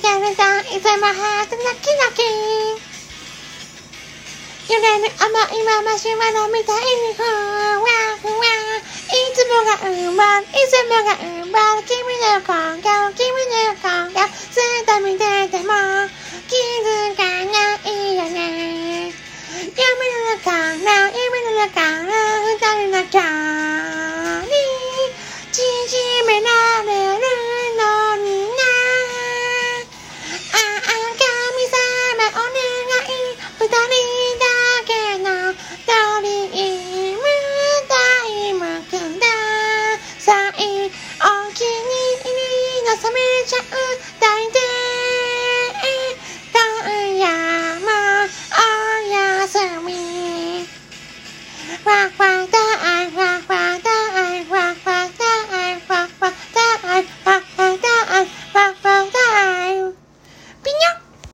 ギャルさんいつもハートドキドキ。揺れる想いはマシュマロみたいにふわふわ。いつもが奪う、いつもが奪う。君の今夜、君の今夜、ずっと見てても